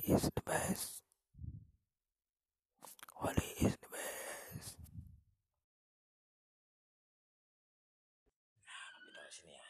is the best. Wali is the best. Nah, di sini ya.